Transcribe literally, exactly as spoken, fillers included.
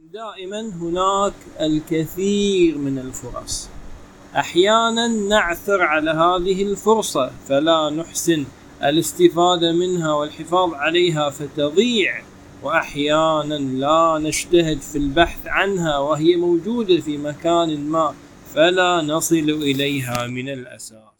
دائما هناك الكثير من الفرص، أحيانا نعثر على هذه الفرصة فلا نحسن الاستفادة منها والحفاظ عليها فتضيع، وأحيانا لا نجتهد في البحث عنها وهي موجودة في مكان ما فلا نصل إليها من الأساس.